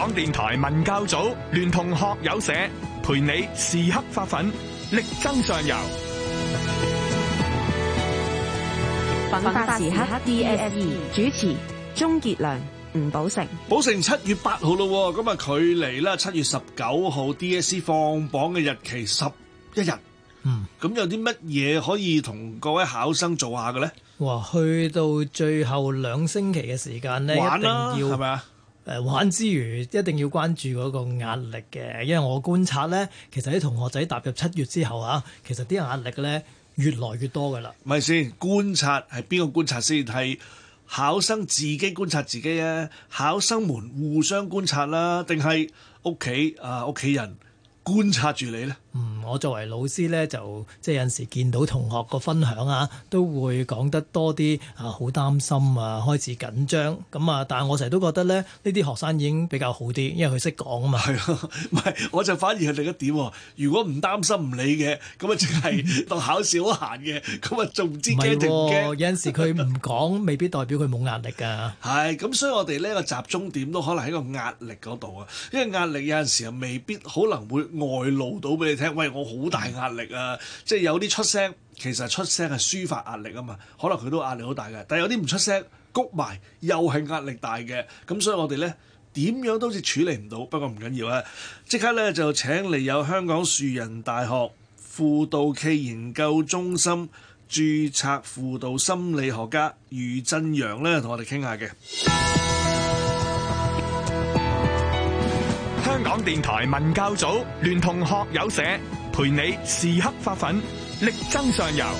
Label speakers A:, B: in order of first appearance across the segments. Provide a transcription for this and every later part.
A: 港電台文教組聯同學友社陪你時刻發奮，力爭上游。
B: 奮發時刻 DSE 主持鍾傑良、吳寶成。
C: 寶成7月8號咯，咁啊距離啦7月19號 DSE 放榜嘅日期11日。咁有啲乜嘢可以同各位考生做下嘅咧？
D: 哇，去到最後2星期嘅時間咧，
C: 玩啦，
D: 一定要
C: 係咪啊？
D: 玩之餘，一定要關注嗰個壓力嘅，因為我觀察咧，其實啲同學仔踏入7月之後啊，其實啲壓力咧越來越多噶啦。
C: 咪先觀察係邊個觀察先？係考生自己觀察自己啊？考生們互相觀察啦，定係屋企人觀察住你咧？
D: 我作為老師咧，就即係有陣時見到同學個分享啊，都會講得多啲啊，好擔心啊，開始緊張咁啊。但係我成日都覺得咧，呢啲學生已經比較好啲，因為佢識講啊嘛。
C: 係咯，唔係我就反而係另一點喎。如果唔擔心唔理嘅，咁啊淨係當考試好閒嘅，咁啊仲唔知驚定唔驚？
D: 有陣時佢唔講，未必代表佢冇壓力㗎。
C: 係咁，所以我哋呢個集中點都可能喺個壓力嗰度啊。因為壓力有陣時又未必可能會外露到俾你聽。喂，我好大壓力啊！即係有啲出聲，其實出聲係抒發壓力啊嘛。可能佢都壓力好大嘅，但係有啲唔出聲，谷埋又係壓力大嘅。咁所以我哋咧點樣都好似處理唔到。不過唔緊要啊，即刻咧就請嚟有香港樹仁大學輔導暨研究中心註冊輔導心理學家余震陽咧，同我哋傾下嘅。
A: 香港電台文教組聯同學友社陪你時刻發奮，力爭上游。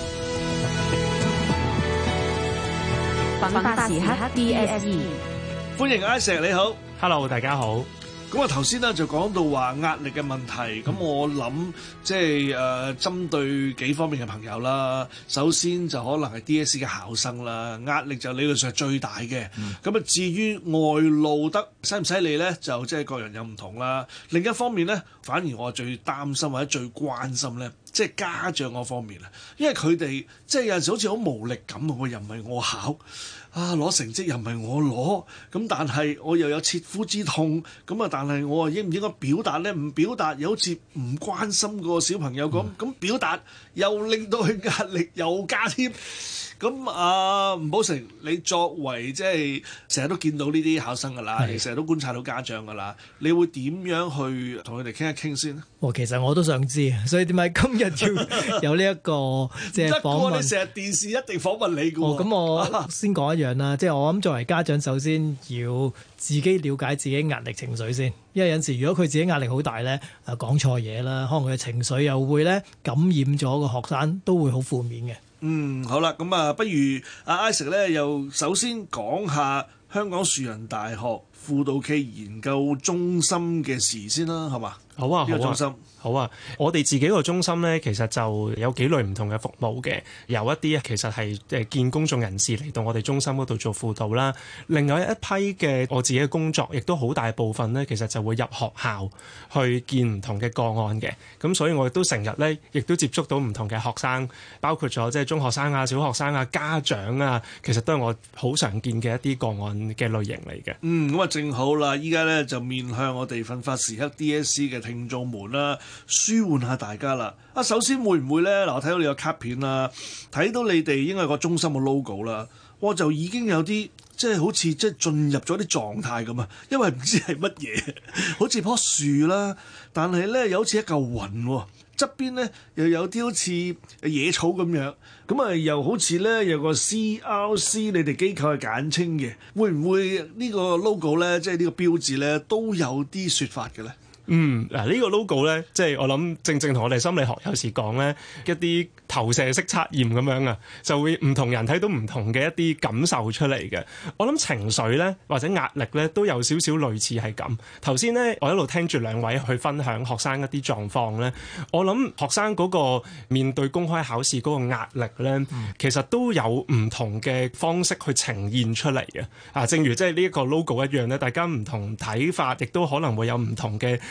B: 奮發時刻 DSE，
C: 歡迎 Isaac， 你好。
E: Hello， 大家好。
C: 咁啊頭先咧就講到話壓力嘅問題，咁我諗即係針對幾方面嘅朋友啦。首先就可能係 DSE 嘅考生啦，壓力就理論上係最大嘅。咁啊至於外露得犀唔犀利咧，就即係各人有唔同啦。另一方面咧，反而我最擔心或者最關心咧，即係家長嗰方面啊，因為佢哋即係有陣時好似好無力感啊，我又唔係我考。攞成績又唔係我攞，咁但係我又有切膚之痛，咁啊但係我應唔應該表達咧？唔表達又好似唔關心個小朋友咁表達又令到佢壓力又加添。咁吳寶成，你作為即係成日都見到呢啲考生㗎啦，你成日都觀察到家長㗎啦，你會點樣去同佢哋傾一傾先咧？
D: 其實我都想知，所以點解今日要有呢一個即係訪問？
C: 你成日電視一定訪問你㗎喎。
D: 咁我先講一樣啦，即係我諗作為家長，首先要自己了解自己壓力情緒先，因為有陣時如果佢自己壓力好大咧，講錯嘢啦，可能佢嘅情緒又會咧感染咗個學生，都會好負面嘅。
C: 好啦，咁啊，不如阿 Isaac 咧，又首先講下香港樹仁大學輔導暨研究中心嘅事先啦，係嘛？
E: 好啊，
C: 呢個中心。
E: 好啊，我哋自己個中心咧，其實就有幾類唔同嘅服務嘅，有一啲其實係見公眾人士嚟到我哋中心嗰度做輔導啦。另外一批嘅我自己嘅工作，亦都好大部分咧，其實就會入學校去見唔同嘅個案嘅。咁所以我亦都成日咧，亦都接觸到唔同嘅學生，包括咗即係中學生啊、小學生啊、家長啊，其實都係我好常見嘅一啲個案嘅類型嚟嘅。
C: 咁啊正好啦，依家咧就面向我哋奮發時刻 DSE 嘅聽眾們啦。舒緩下大家啦！首先會唔會咧？嗱，我睇到你個卡片啦，睇到你哋應該有個中心嘅 logo 啦，我就已經有啲即係好似即係進入咗啲狀態咁啊！因為唔知係乜嘢，好似棵樹啦，但係咧又好似一嚿雲喎，側邊咧又有啲好似野草咁樣，咁啊又好似咧有個 CRC， 你哋機構係簡稱嘅，會唔會呢個 logo 咧，即係呢個標誌咧，都有啲説法嘅咧？
E: 呢個 logo 咧，即係我諗正同我哋心理學有時講咧，一啲投射式測驗咁樣啊，就會唔同人睇到唔同嘅一啲感受出嚟嘅。我諗情緒咧或者壓力咧都有少少類似係咁。頭先咧我一路聽住兩位去分享學生一啲狀況咧，我諗學生嗰個面對公開考試嗰個壓力咧，其實都有唔同嘅方式去呈現出嚟嘅。正如即係呢一個 logo 一樣咧，大家唔同睇法，亦都可能會有唔同嘅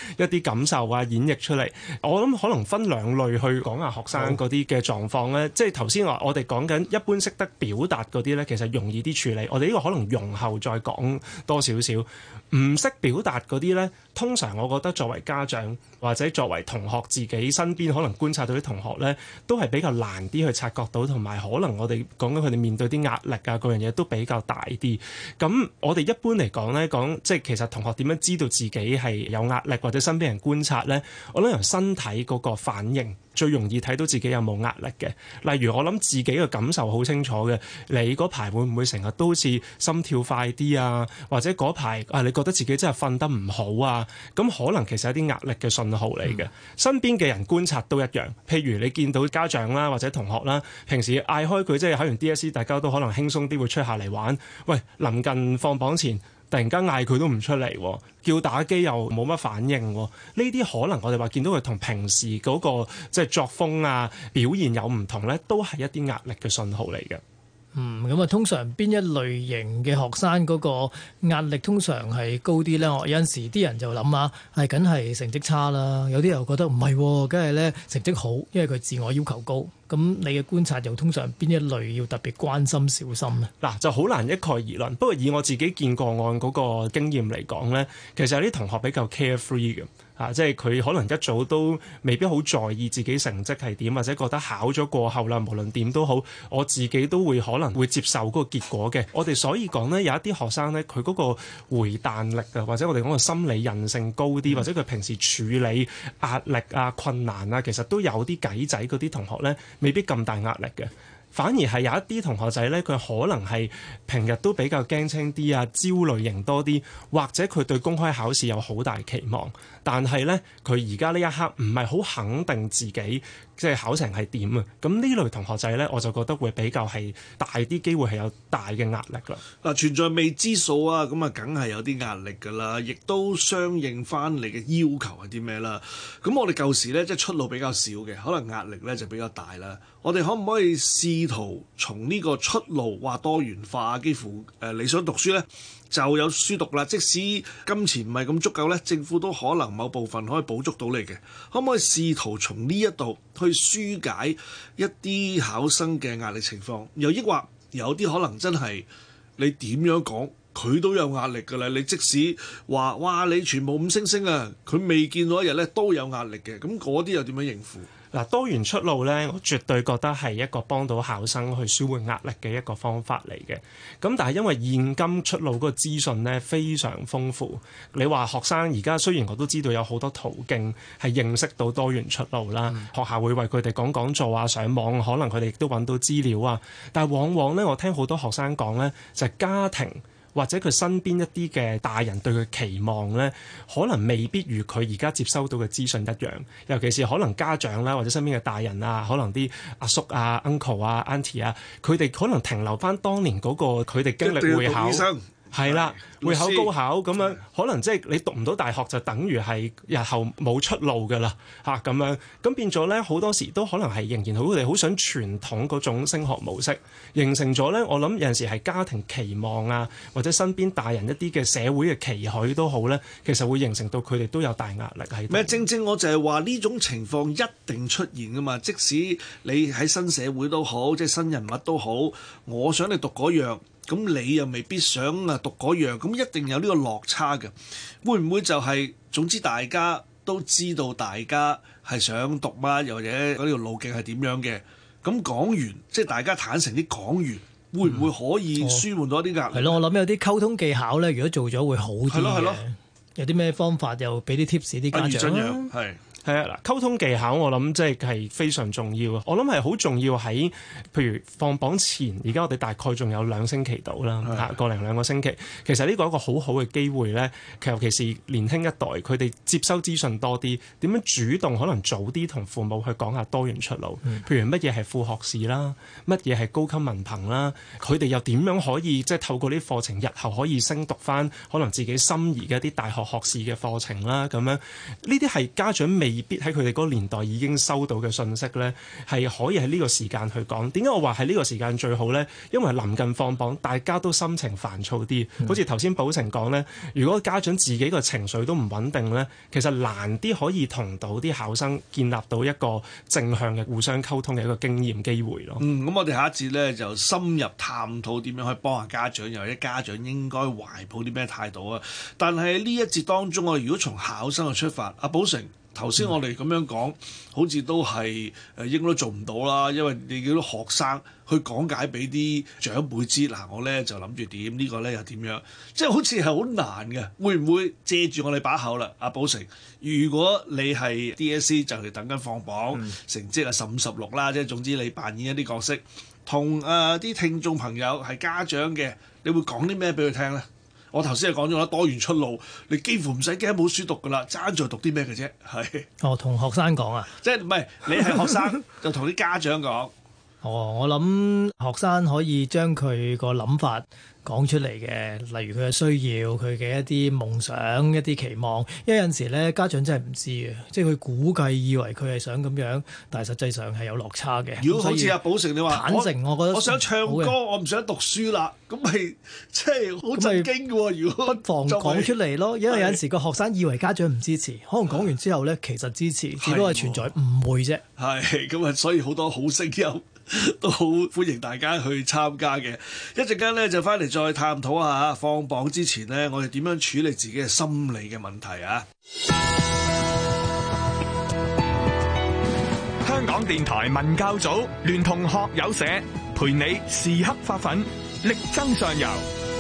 E: 一啲感受啊演繹出嚟。我諗可能分兩類去講下學生嗰啲嘅狀況咧，即係頭先我哋講緊一般識得表達嗰啲咧，其實容易啲處理。我哋呢個可能容後再講多少少。唔識表達嗰啲咧，通常我覺得作為家長或者作為同學自己身邊可能觀察到啲同學咧，都係比較難啲去察覺到，同埋可能我哋講緊佢哋面對啲壓力啊嗰樣嘢都比較大啲。咁我哋一般嚟講咧，講即係其實同學點樣知道自己係有壓力或者身邊人觀察咧，我諗由身體嗰個反應最容易睇到自己有冇壓力嘅。例如我諗自己嘅感受好清楚嘅，你嗰排會唔會成日都好似心跳快啲啊？或者嗰排你覺得自己真係瞓得唔好啊？咁可能其實係一啲壓力嘅信號嚟嘅。身邊嘅人觀察都一樣，譬如你見到家長啦或者同學啦，平時嗌開佢即係考完 DSE， 大家都可能輕鬆啲會出下嚟玩。喂，臨近放榜前，突然間嗌佢都唔出嚟，叫打機又冇乜反應。呢啲可能我哋話見到佢同平時嗰個即係作風啊表現有唔同咧，都係一啲壓力嘅信號嚟嘅。
D: 咁啊，通常邊一類型嘅學生嗰個壓力通常係高啲咧？我有陣時啲人就諗下，係梗係成績差啦。有啲又覺得唔係，梗係咧成績好，因為佢自我要求高。咁你嘅觀察又通常邊一類要特別關心小心咧？
E: 嗱，就好難一概而論。不過以我自己見個案嗰個經驗嚟講咧，其實有啲同學比較 carefree 嘅。即係佢可能一早都未必好在意自己成績係點，或者覺得考咗過後啦，無論點都好，我自己都會可能會接受嗰個結果嘅。我哋所以講呢，有一啲學生呢，佢嗰個回彈力啊，或者我哋講個心理韌性高啲，或者佢平時處理壓力啊、困難啊，其實都有啲計仔嗰啲同學呢，未必咁大壓力嘅。反而係有一啲同學仔呢，佢可能係平日都比較驚青啲啊，焦慮型多啲，或者佢對公開考試有好大期望，但係呢，佢而家呢一刻唔係好肯定自己即係考成係點啊。咁呢類同學仔呢，我就覺得會比較係大啲機會係有大嘅壓力啦。
C: 嗱，存在未知數啊，咁啊梗係有啲壓力㗎啦，亦都相應翻你嘅要求係啲咩啦。咁我哋舊時呢，即係出路比較少嘅，可能壓力呢就比較大啦。我哋可唔可以試圖從呢個出路話多元化，幾乎你想讀書呢就有書讀啦。即使金錢唔係咁足夠呢，政府都可能某部分可以補足到你嘅。可唔可以試圖從呢一度去紓解一啲考生嘅壓力情況？又抑或有啲可能真係你點樣講佢都有壓力㗎啦。你即使話哇你全部5星星啊，佢未見到一日呢都有壓力嘅。咁嗰啲又點樣應付？
E: 嗱，多元出路呢，我絕對覺得係一個幫到考生去舒緩壓力嘅一個方法嚟嘅。咁但係因為現今出路嗰個資訊呢非常豐富，你話學生而家雖然我都知道有好多途徑係認識到多元出路啦，學校會為佢哋講講座啊，上網可能佢哋亦都揾到資料啊，但係往往呢，我聽好多學生講呢，就係家庭或者佢身邊一啲嘅大人對佢期望呢，可能未必如佢而家接收到嘅資訊一樣。尤其是可能家長啦，或者身邊嘅大人啊，可能啲阿叔啊、uncle 啊、auntie 啊，佢哋可能停留翻當年嗰個佢哋經歷會考。係啦，會考高考咁樣，可能即係你讀唔到大學就等於係日後冇出路㗎啦嚇咁樣，咁變咗咧好多時都可能係仍然佢哋好想傳統嗰種升學模式，形成咗咧。我諗有陣時係家庭期望啊，或者身邊大人一啲嘅社會嘅期許都好咧，其實會形成到佢哋都有大壓力喺度。
C: 咪正正我就係話呢種情況一定出現㗎嘛，即使你喺新社會都好，即係新人物都好，我想你讀嗰樣。咁你又未必想讀嗰樣，咁一定有呢個落差嘅。會唔會就係總之大家都知道大家係想讀乜，又或者嗰條路徑係點樣嘅？咁講完，即係大家坦誠啲講完，會唔會可以舒緩到一啲壓力？
D: 係咯，我諗有啲溝通技巧咧，如果做咗會好啲嘅。係咯，有啲咩方法又俾啲 tips 啲家長啦。
E: 係啊，嗱，溝通技巧我諗即係非常重要啊！我諗係好重要喺，譬如放榜前，而家我哋大概仲有2星期到啦，個零2個星期。其實呢個係一個好好嘅機會咧，尤其是年輕一代，佢哋接收資訊多啲，點樣主動可能早啲同父母去講下多元出路。譬如乜嘢係副學士啦，乜嘢係高級文憑啦，佢哋又點樣可以即係透過呢啲課程，日後可以升讀翻可能自己心儀嘅一啲大學學士嘅課程啦，咁樣呢啲係家長未未必喺佢哋嗰個年代已經收到嘅信息呢，係可以喺呢個時間去講。點解我話喺呢個時間最好呢？因為臨近放榜，大家都心情煩躁啲。好似頭先寶成講呢，如果家長自己個情緒都唔穩定呢，其實難啲可以同到啲考生建立到一個正向嘅互相溝通嘅一個經驗機會咯。
C: 咁我哋下一節咧就深入探討點樣可以幫下家長，又或者家長應該懷抱啲咩態度啊？但係呢一節當中，我如果從考生嘅出發，阿寶成頭先我哋咁樣講，好似都係應該都做唔到啦，因為你叫啲學生去講解俾啲長輩知，嗱我咧就諗住點，呢個咧又點樣，即係好似係好難嘅。會唔會借住我哋把口啦？阿寶成，如果你係 DSE 就嚟等緊放榜，成績係15、16啦，即係總之你扮演一啲角色，同啲聽眾朋友係家長嘅，你會講啲咩俾佢聽咧？我頭先係講咗啦，多元出路，你幾乎唔使驚冇書讀噶啦，爭在讀啲咩嘅啫，係。
D: 哦，同學生講啊，
C: 即係唔係你係學生就同啲家長講。
D: 哦，我諗學生可以將佢個諗法講出嚟嘅，例如佢嘅需要、佢嘅一啲夢想、一啲期望，因為有陣時咧家長真係唔知嘅，即係佢估計以為佢係想咁樣，但係實際上係有落差嘅。
C: 如果好似阿寶成你話
D: 坦誠，我覺得
C: 我想唱歌，我唔想讀書啦，咁咪即係好震驚嘅喎。如果
D: 不妨講出嚟咯，因為有陣時個學生以為家長唔支持，可能講完之後咧其實支持，只不過係存在誤會啫。
C: 係咁啊，所以好多好聲音都好歡迎大家去參加嘅。一陣間咧就翻嚟再探討下放榜之前呢，我哋點樣處理自己嘅心理嘅問題啊！
A: 香港電台文教組聯同學友社，陪你時刻發奮，力爭上游。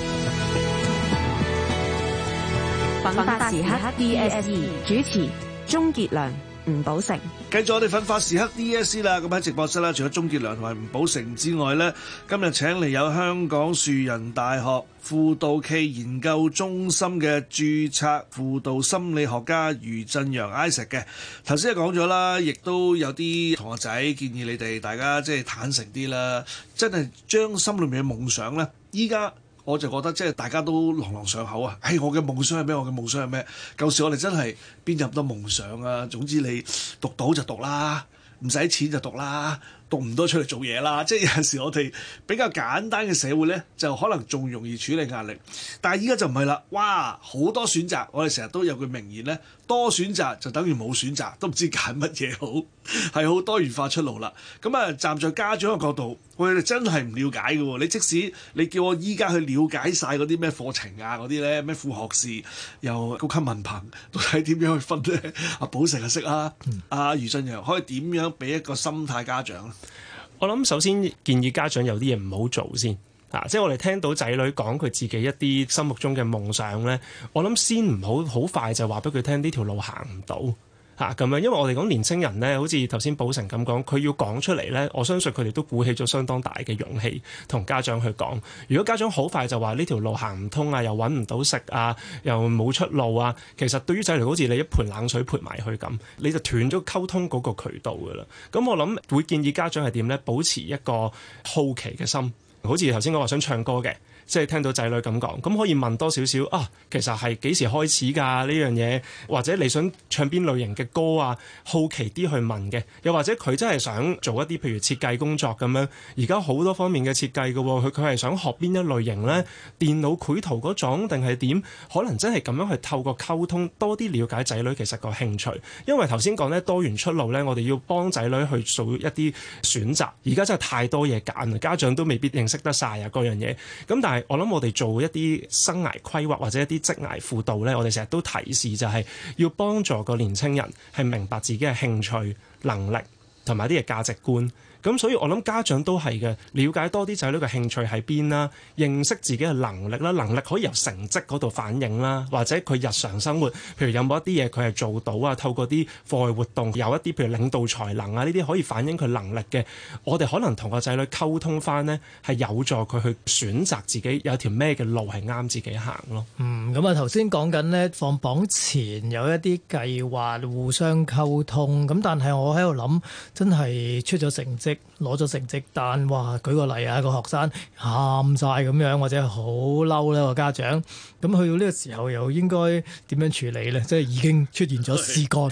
B: 奮發時刻 DSE 主持鍾傑良、吳寶成。
C: 繼續我哋奮發時刻 DSE 啦，咁喺直播室啦，除咗鍾傑良同埋吳寶成之外呢，今日請嚟有香港樹仁大學輔導暨研究中心嘅註冊輔導心理學家余振陽 Isaac 嘅。頭先講咗啦，亦都有啲同學仔建議你哋大家即係坦誠啲啦，真係將心裏面嘅夢想呢，依家我就覺得即係大家都朗朗上口啊！我嘅夢想係咩？我嘅夢想係咩？舊時我哋真係邊有咁多夢想啊？總之你讀到就讀啦，唔使錢就讀啦，讀唔到出嚟做嘢啦。即係有陣時我哋比較簡單嘅社會呢，就可能仲容易處理壓力。但係依家就唔係啦，哇！好多選擇，我哋成日都有句名言呢：多選擇就等於冇選擇，都唔知揀乜嘢好，係好多元化出路啦。咁啊，站在家長嘅角度，我哋真係唔了解嘅喎。你即使你叫我依家去了解晒嗰啲咩課程啊，嗰啲咧咩副學士又高級文憑，到底點樣去分咧？阿寶成就識啦，阿余振陽可以點樣俾一個心態家長咧？
E: 我諗首先建議家長有啲嘢唔好做先。即係我哋聽到仔女講佢自己一啲心目中嘅夢想咧，我諗先唔好快就話俾佢聽呢條路行唔到咁樣，因為我哋講年青人咧，好似頭先寶成咁講，佢要講出嚟咧，我相信佢哋都鼓起咗相當大嘅勇氣同家長去講。如果家長好快就話呢條路行唔通啊，又揾唔到食啊，又冇出路啊，其實對於仔女好似你一盆冷水潑埋去咁，你就斷咗溝通嗰個渠道噶啦。咁我諗會建議家長係點咧？保持一個好奇嘅心。好似頭先我話想唱歌嘅，即係聽到仔女咁講，咁可以問多少少啊？其實係幾時開始㗎呢樣嘢？或者你想唱邊類型嘅歌啊？好奇啲去問嘅，又或者佢真係想做一啲譬如設計工作咁樣，而家好多方面嘅設計嘅喎，佢係想學邊一類型呢？電腦繪圖嗰種定係點？可能真係咁樣去透過溝通多啲了解仔女其實個興趣，因為頭先講呢多元出路呢，我哋要幫仔女去做一啲選擇，而家真係太多嘢揀，家長都未必認識得晒啊嗰樣嘢。咁但係我諗我哋做一啲生涯規劃或者一啲職涯輔導呢，我哋成日都提示就係要幫助個年青人係明白自己嘅興趣、能力同埋啲嘅價值觀。咁所以我諗家長都係嘅，了解多啲仔女嘅興趣喺邊啦，認識自己嘅能力啦，能力可以由成績嗰度反映啦，或者佢日常生活，譬如有冇一啲嘢佢係做到啊，透過啲課外活動有一啲譬如領導才能啊，呢啲可以反映佢能力嘅，我哋可能同個仔女溝通翻呢，係有助佢去選擇自己有條咩嘅路係啱自己行咯。
D: 咁啊頭先講緊呢，放榜前有一啲計劃互相溝通，咁但係我喺度諗，真係出咗成績攞咗成績單，哇！舉個例啊，個學生喊晒咁樣，或者好嬲咧個家長，咁去到呢個時候又應該點樣處理咧？即係已經出現咗事幹嘅。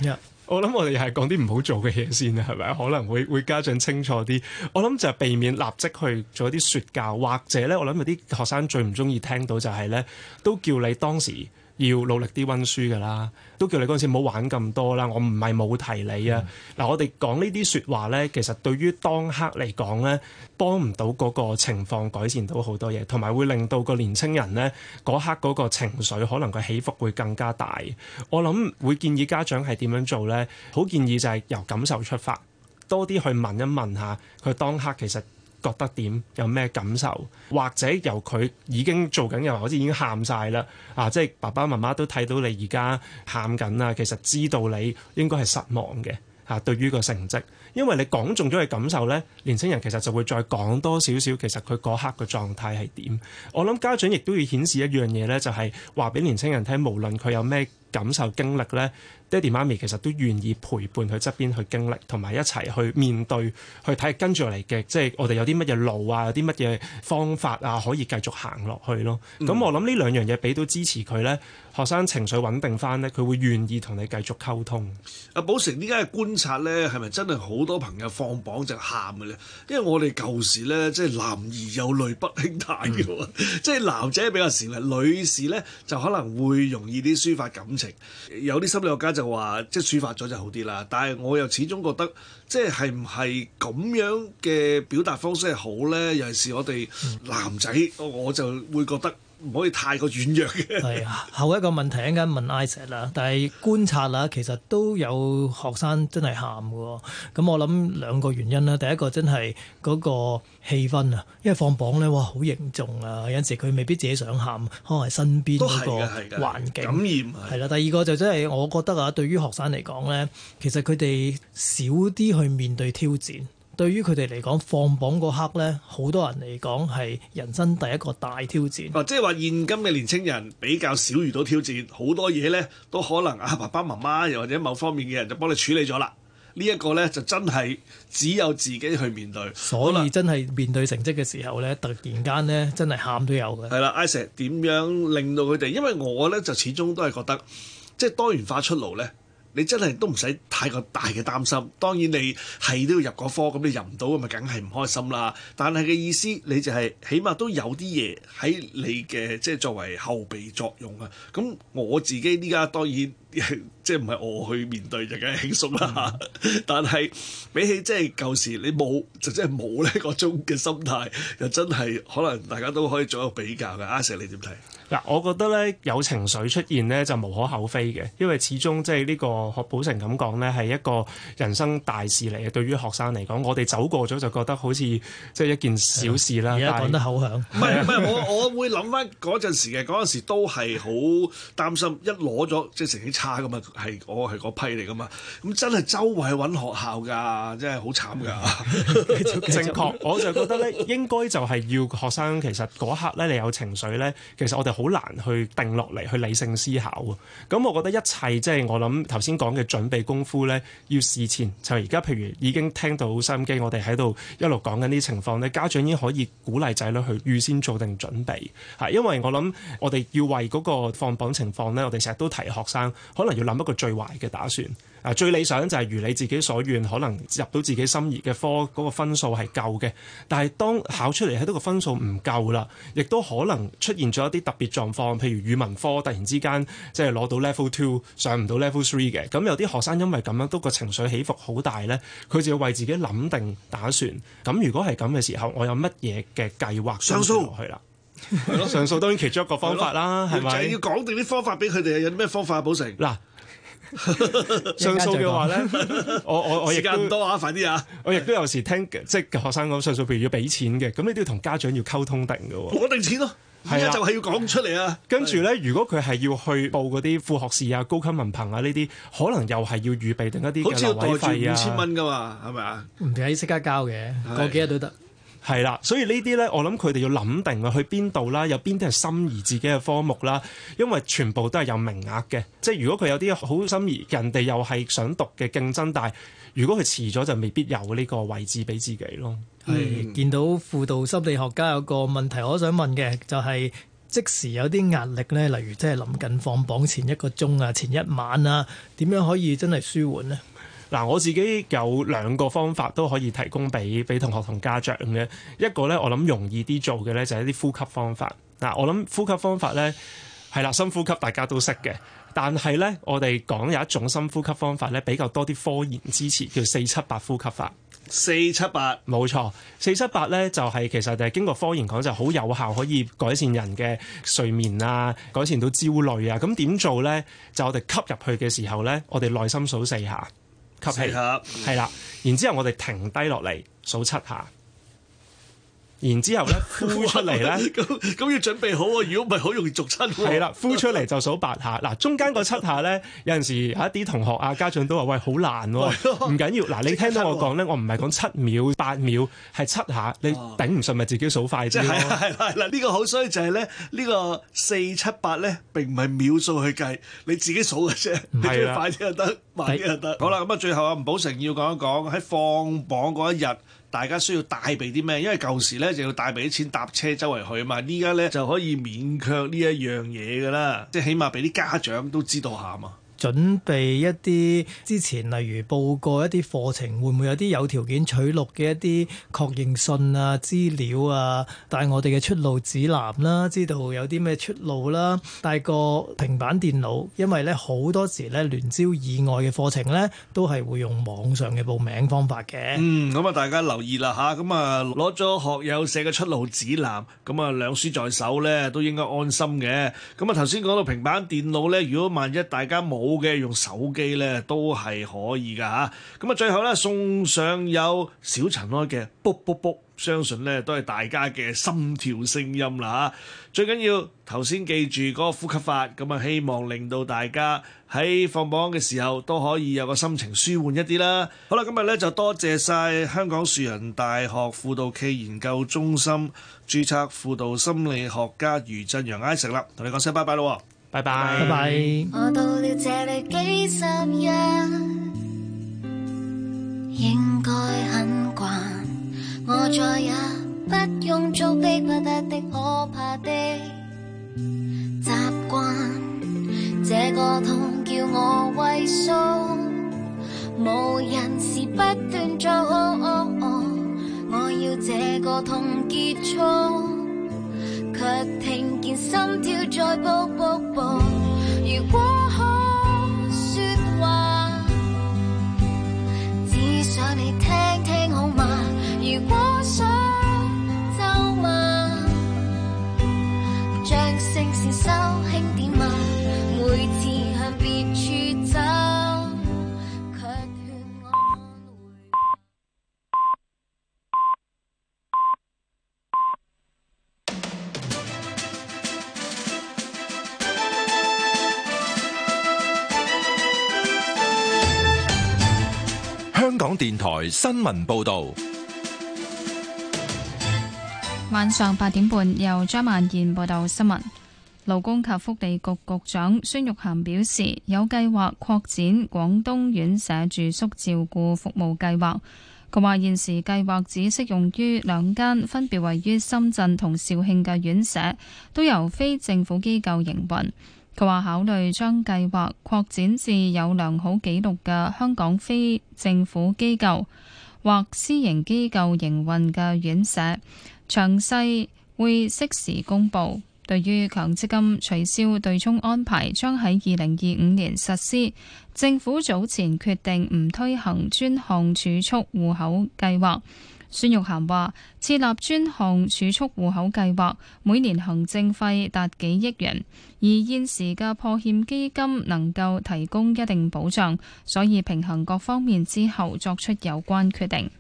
E: 我諗我哋又係講啲唔好做嘅嘢先啊，係咪？可能會家長清楚啲。我諗就係避免立即去做一啲説教，或者咧，我諗有啲學生最唔中意聽到就係咧，都叫你當時要努力啲溫書㗎啦，都叫你嗰陣時唔好玩咁多啦。我唔係冇提你啊。嗱，我哋講呢啲説話咧，其實對於當刻嚟講咧，幫唔到嗰個情況改善到好多嘢，同埋會令到個年青人咧嗰刻嗰個情緒可能個起伏會更加大。我諗會建議家長係點樣做咧？好建議就係由感受出發，多啲去問一問下佢當刻其實覺得點，有咩感受，或者由佢已經做緊，又好似已經喊晒啦即係爸爸媽媽都睇到你而家喊緊啦，其實知道你應該係失望嘅對於個成績，因為你講中咗佢感受呢，年青人其實就會再講多少少，其實佢嗰刻嘅狀態係點。我諗家長亦都要顯示一樣嘢呢，就係話俾年青人聽，無論佢有咩感受經歷呢，爹哋媽咪其實都願意陪伴佢側邊去經歷，同埋一齊去面對，去睇跟住落嚟嘅，即係我哋有啲乜嘢路啊，有啲乜嘢方法啊，可以繼續行落去咯。咁我諗呢兩樣嘢俾到支持佢呢，學生情緒穩定翻呢，佢會願意同你繼續溝通。
C: 阿寶成，呢家嘅觀察呢，係咪真係好多朋友放榜就喊嘅咧？因為我哋舊時呢，即係男兒有淚不輕彈嘅喎，即係男仔比較少啦，女士呢就可能會容易啲抒發感情。有啲心理學家就話，即係抒發咗就好啲啦。但係我又始終覺得，即係唔係咁樣嘅表達方式係好呢？尤其是我哋男仔，我就會覺得唔可以太過軟弱嘅。
D: 係後一個問題一陣間問 Isaac 啦，但係觀察啦，其實都有學生真係喊嘅。咁我諗兩個原因啦，第一個真係嗰個氣氛啊，因為放榜咧，哇好凝重啊，有陣時佢未必自己想喊，可能係身邊嗰個環境
C: 感染係啦。
D: 第二個就真係我覺得對於學生嚟講咧，其實佢哋少啲去面對挑戰。對於佢哋嚟講，放榜嗰刻咧，好多人嚟講係人生第一個大挑戰。
C: 即係話現今嘅年青人比較少遇到挑戰，好多嘢咧都可能爸爸媽媽又或者某方面嘅人就幫你處理咗啦。呢一個咧就真係只有自己去面對。
D: 所以真係面對成績嘅時候咧，突然間咧真係喊都有嘅。
C: 係啦，Isaac 點樣令到佢哋？因為我咧就始終都係覺得，即係多元化出路咧。你真係都唔使太過大嘅擔心，當然你係都要入嗰科，咁你入唔到咁咪梗係唔開心啦。但係嘅意思，你就係起碼都有啲嘢喺你嘅即係作為後備作用啊。咁我自己呢家當然即係唔係我去面對就梗係輕鬆啦。但係比起即係舊時你冇就真係冇呢個種嘅心態，又真係可能大家都可以做一個比較嘅。阿 Sir 你點睇？
E: 嗱，我覺得咧有情緒出現咧就無可厚非嘅，因為始終即係呢個學寶成咁講咧係一個人生大事嚟嘅。對於學生嚟講，我哋走過咗就覺得好似即係一件小事啦。
D: 而家講得口響，
C: 唔係我會諗翻嗰陣時嘅，嗰陣時都係好擔心，一攞咗即係成績差噶嘛，我係嗰批嚟噶嘛，咁真係周圍揾學校㗎，真係好慘㗎。
E: 正確，我就覺得咧應該就係要學生其實嗰刻咧你有情緒咧，其實我哋好難去定落嚟去理性思考啊！咁我覺得一切即係我諗頭先講嘅準備功夫咧，要事前就而家譬如已經聽到收音機，我哋喺度一路講緊啲情況咧，家長已經可以鼓勵仔女去預先做定準備嚇，因為我諗我哋要為嗰個放榜情況咧，我哋成日都提學生可能要諗一個最壞嘅打算。最理想就係如你自己所願，可能入到自己心儀嘅科，嗰個分數係夠嘅。但係當考出嚟喺呢個分數唔夠啦，亦都可能出現咗一啲特別狀況，譬如語文科突然之間即係攞到 Level 2上唔到 Level 3嘅。咁有啲學生因為咁樣都個情緒起伏好大呢，佢就要為自己諗定打算。咁如果係咁嘅時候，我有乜嘢嘅計劃上訴落去啦？係咯，上訴當然其中一個方法啦，係咪？
C: 就要講定啲方法俾佢哋，有啲咩方法補成嗱？
E: 上訴嘅話咧，我
C: 時間唔多啊，快啲啊！
E: 我亦都有時聽即係學生講上訴，譬如要俾錢嘅，咁你都要同家長要溝通定嘅喎。
C: 攞定錢咯，而家就係要講出嚟啊！
E: 跟住咧，如果佢係要去報嗰啲副學士啊、高級文憑啊呢啲，可能又係要預備定一啲嘅留位費啊。好似要袋住5000蚊㗎嘛，係咪啊？唔
D: 使即刻交嘅，過幾日都得。
E: 係啦，所以呢啲咧，我諗佢哋要諗定啊，去邊度啦，有邊啲係心儀自己嘅科目啦，因為全部都係有名額嘅。即係如果佢有啲好心儀，人哋又係想讀嘅競爭，但係如果佢遲咗，就未必有呢個位置俾自己咯。
D: 係見到輔導心理學家有個問題，我想問嘅就係即時有啲壓力呢？例如即係臨近放榜前1個鐘啊、前一晚啊，點樣可以真係舒緩呢？
E: 嗱，我自己有2個方法都可以提供俾同學同家長嘅。一個呢，我諗容易啲做嘅呢，就係一啲呼吸方法。嗱，我諗呼吸方法呢，係啦，深呼吸大家都識嘅。但係呢，我哋講有一種深呼吸方法呢，比較多啲科研支持，叫478呼吸法。
C: 478
E: 冇錯，478呢就係其實就係經過科研講就好有效，可以改善人嘅睡眠啊，改善到焦慮啊。咁點做呢？就我哋吸入去嘅時候呢，我哋內心數4下。吸氣係啦，然之後我哋停低落嚟數7下，然之後咧呼出嚟咧，
C: 咁要準備好喎，如果唔係好容易逐親。
E: 係啦，呼出嚟就數8下。嗱，中間個7下咧，有陣時有一啲同學啊家長都話：喂，好難喎，唔緊要。嗱，你聽到我講咧，我唔係講7秒、8秒，係7下，你頂唔順咪自己數快啲咯。
C: 係啦，呢個好衰就係咧，呢個478咧並唔係秒數去計，你自己數嘅啫。你中意快啲就得，慢啲就得。好啦，咁啊最後啊吳寶成要講一講喺放榜嗰一日，大家需要帶備啲咩？因為舊時咧就要帶備啲錢搭車周圍去啊嘛，依家咧就可以免卻呢一樣嘢噶啦，即係起碼俾啲家長都知道下嘛。
D: 準備一啲之前，例如報過一啲課程，會唔會有啲有條件取錄嘅一啲確認信啊、資料啊，帶我哋嘅出路指南啦，知道有啲咩出路啦，帶個平板電腦，因為咧好多時咧聯招以外嘅課程咧都係會用網上嘅報名方法嘅。
C: 咁啊大家留意啦嚇，咁啊攞咗學友社嘅出路指南，咁啊兩書在手咧都應該安心嘅。咁啊頭先講到平板電腦咧，如果萬一大家冇嘅用手機咧都係可以噶嚇，咁啊最後咧送上有小塵埃嘅卜卜卜，相信咧都係大家嘅心跳聲音啦嚇。最緊要頭先記住嗰個呼吸法，咁啊希望令到大家喺放榜嘅時候都可以有個心情舒緩一啲啦。好啦，今日咧就多謝晒香港樹仁大學輔導暨研究中心註冊輔導心理學家余振陽 Isaac 啦，同你講聲拜拜咯。
E: 拜拜，
D: 拜拜。
F: 我到了這裏幾十日，應該很慣。我再也不用做逼不得的可怕的習慣。這個痛叫我畏縮，無人時不斷做。我要這個痛結束。卻聽見心跳在卜卜卜。如果可說話，只想你聽聽好嗎？如果想咒罵，將聲線收輕點嘛。每次向別處走，卻勸我回。
G: 香港電台新聞報導，
H: 晚上8點半由張曼燕報道新聞。勞工及福利局局長孫玉菡表示，有計劃擴展廣東院舍住宿照顧服務計劃。佢話現時計劃只適用於2間分別位於深圳同肇慶嘅院舍，都由非政府機構營運。佢話考慮將計劃擴展至有良好記錄嘅香港非政府機構或私營機構營運嘅院舍，詳細會適時公佈。對於強積金取消對沖安排將喺2025年實施，政府早前決定唔推行專項儲蓄戶口計劃。孫玉菡話設立專項儲蓄戶口計劃每年行政費達幾億元，而現時嘅破欠基金能夠提供一定保障，所以平衡各方面之後作出有關決定。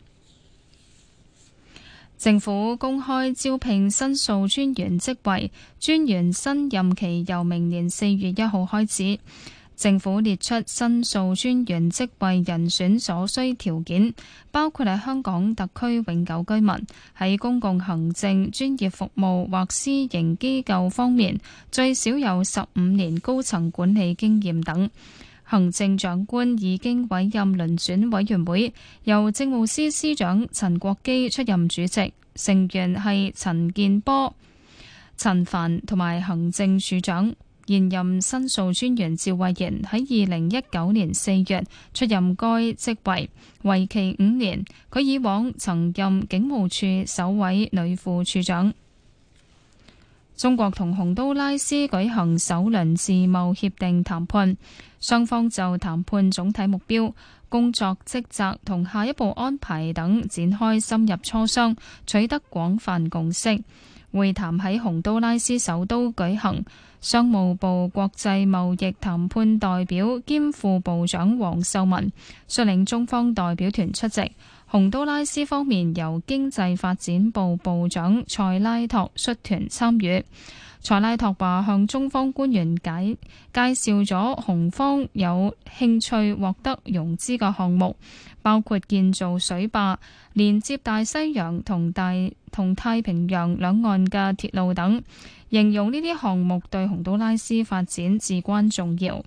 H: 政府公開招聘申訴專員職位，專員新任期由明年4月1號開始。政府列出申訴專員職位人選所需條件，包括喺香港特區永久居民，喺公共行政、專業服務或私營機構方面最少有15年高層管理經驗等。行政長官已經委任遴選委員會，由政務司司長陳國基出任主席，成員係陳健波、 陳帆同埋行政署長。現任申訴專員趙慧賢喺2019年4月出任該職位，為期5年。佢以往曾任警務處首位女副處長。中國同洪都拉斯舉行首輪自貿協定談判，雙方就談判總體目標、工作職責同下一步安排等展開深入磋商，取得廣泛共識。會談喺洪都拉斯首都舉行。商務部國際貿易談判代表兼副部長黃秀文率領中方代表團出席，洪都拉斯方面由經濟發展部部長塞拉托率團參與。塞拉托話向中方官員介紹咗洪方有興趣獲得融資嘅項目，包括建造水壩、連接大西洋同太平洋兩岸嘅鐵路等，形容呢啲項目對洪都拉斯發展至關重要。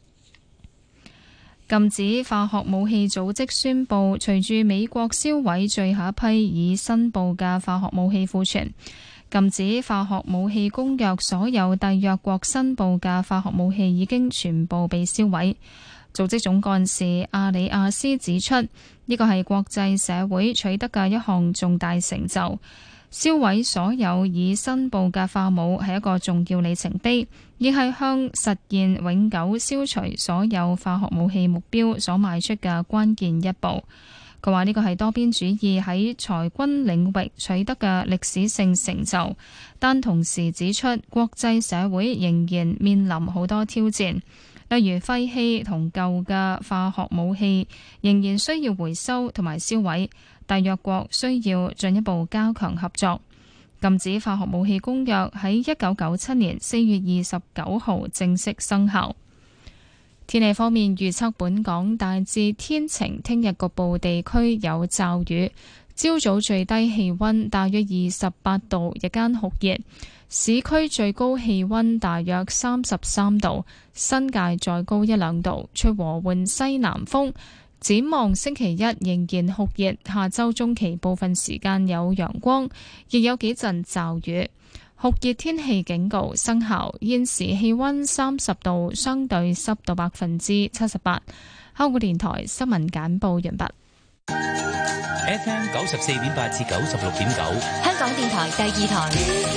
H: 禁止化學武器組織宣布，隨住美國銷毀最後一批已申報嘅化學武器庫存，禁止化學武器公約所有締約國申報嘅化學武器已經全部被銷毀。組織總幹事阿里亞斯指出，呢個係國際社會取得嘅一項重大成就。銷毀所有已申報嘅化武係一個重要里程碑，亦係向實現永久消除所有化學武器目標所邁出嘅關鍵一步。佢話呢個係多邊主義喺裁軍領域取得嘅歷史性成就，但同時指出國際社會仍然面臨好多挑戰，例如廢棄同舊嘅化學武器仍然需要回收同埋銷毀，締約國需要進一步加強合作。禁止化學武器公約喺1997年4月29號正式生效。天氣方面預測，本港大致天晴，聽日局部地區有驟雨。朝早最低氣溫大約28度，日間酷熱，市區最高氣溫大約33度，新界再高1-2度，吹和緩西南風。展望星期一仍然酷熱，下周中期部分時間有陽光，亦有幾陣驟雨。酷熱天氣警告生效，現時氣溫30度，相對濕度78%。香港電台新聞簡報完畢。
I: FM 94.8至96.9，
F: 香港電台第2台。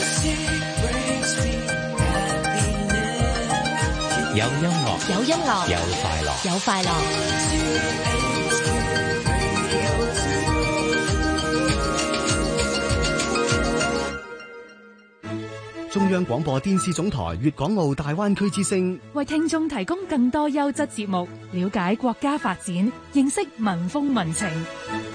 I: 有音樂，
F: 有音樂，
I: 有快樂，
F: 有快樂。
J: 中央廣播電視總台粵港澳大灣區之聲，
K: 為聽眾提供更多優質節目，了解國家發展，認識民風民情。